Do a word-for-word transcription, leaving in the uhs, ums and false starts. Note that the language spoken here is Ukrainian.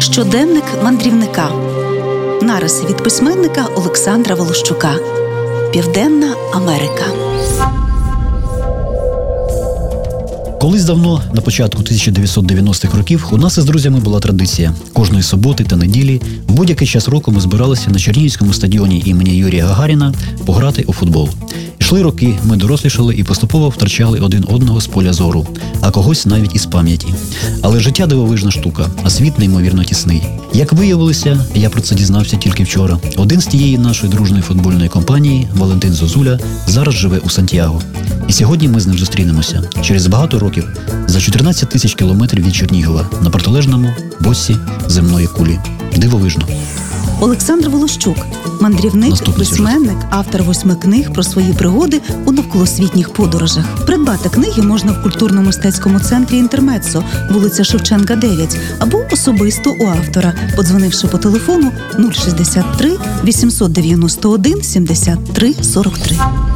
Щоденник мандрівника. Нариси від письменника Олександра Волощука. Південна Америка. Колись давно, на початку тисяча дев'ятсот дев'яностих років, у нас із друзями була традиція. Кожної суботи та неділі, в будь-який час року ми збиралися на Чернігівському стадіоні імені Юрія Гагаріна пограти у футбол. Йшли роки, ми дорослішали і поступово втрачали один одного з поля зору, а когось навіть із пам'яті. Але життя дивовижна штука, а світ неймовірно тісний. Як виявилося, я про це дізнався тільки вчора. Один з тієї нашої дружної футбольної компанії, Валентин Зозуля, зараз живе у Сантьяго. І сьогодні ми з ним зустрінемося. Через багато років, за чотирнадцять тисяч кілометрів від Чернігова, на протилежному боці земної кулі. Дивовижно. Олександр Волощук – мандрівник, Наступний письменник, сюжет. автор восьми книг про свої пригоди у навколосвітніх подорожах. Придбати книги можна в культурно-мистецькому центрі «Інтермеццо», вулиця Шевченка, дев'ять, або особисто у автора, подзвонивши по телефону нуль шістдесят три вісімсот дев'яносто один сімдесят три сорок три.